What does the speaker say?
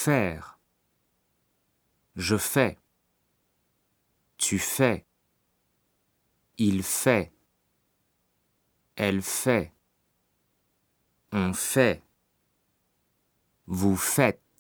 faire, je fais, tu fais, il fait, elle fait, on fait, vous faites.